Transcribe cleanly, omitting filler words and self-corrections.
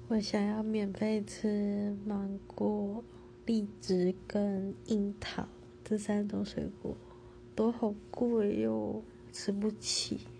我想要免费吃芒果、荔枝跟樱桃这3种水果，都好贵哟，吃不起。